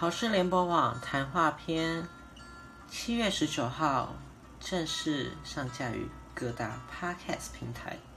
好事联播网谈话篇7月19号正式上架于各大 Podcast 平台。